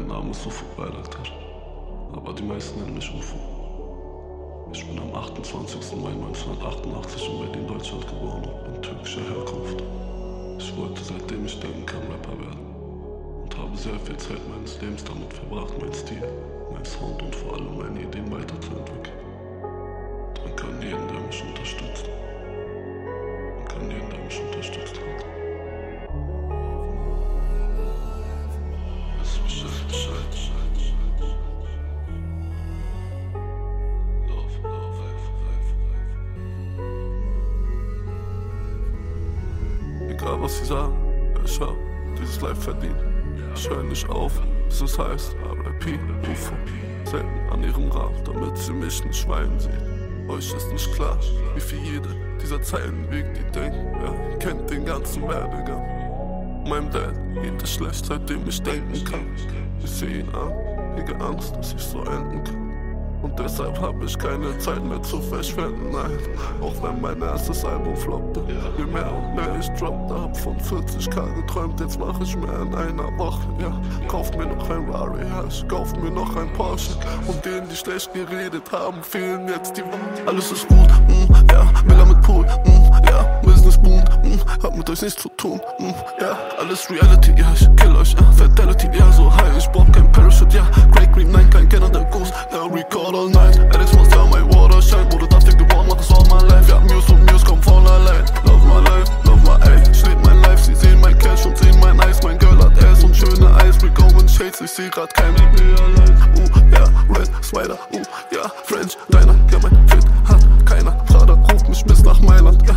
Name ist Ufuk Bayraktar, aber die meisten nennen mich Ufo. Ich bin am 28. Mai 1988 in Berlin, Deutschland geboren und bin türkischer Herkunft. Ich wollte, seitdem ich denken kann, Rapper werden und habe sehr viel Zeit meines Lebens damit verbracht, meinen Stil, meinen Sound und vor allem meine Ideen weiterzuentwickeln. Danke an jeden, der mich unterstützt. Danke an jeden, der mich unterstützt hat. Egal was sie sagen, ich hab dieses Life verdient. Ich höre nicht auf, bis es heißt R.I.P. Ufo. Selten an ihrem Rad, damit sie mich nicht schweinen sehen. Euch ist nicht klar, wie viel jede dieser Zeilen wiegt, die denken, er kennt den ganzen Werdegang. Meinem Dad geht es schlecht, seitdem ich denken kann. Ich sehe ihn an, hege Angst, dass ich so enden kann. Und deshalb hab ich keine Zeit mehr zu verschwenden, nein. Auch wenn mein erstes Album floppte. Je mehr und mehr ich droppte, hab von 40k geträumt, jetzt mach ich mehr in einer Woche, ja. Kauft mir noch ein Rari, ja, ich kauf mir noch ein Porsche. Und denen, die schlecht geredet haben, fehlen jetzt die Worte. Alles ist gut, ja, Miller mit Pool, ja, Business boomt, hab mit euch nichts zu tun, ja, alles Reality, ja, ich kill euch, ja, Fatality, ja, so high, ich brauch kein Parachute, ja, Great Green, nein, kein Kenner der Ghost, ja, record all night, Alex muss ja, my water shine, wurde dafür geboren, mach das all my life, ja, Muse und Muse kommt von allein, love my ey, steht mein Life, sie sehen mein Cash und sehen mein Eis, mein Girl hat Ass und schöne Eyes, we going shades, ich seh grad kein ja, Red Spider, ja, French, deiner, ja, mein Fit hat keiner, Prada ruft mich bis nach Mailand,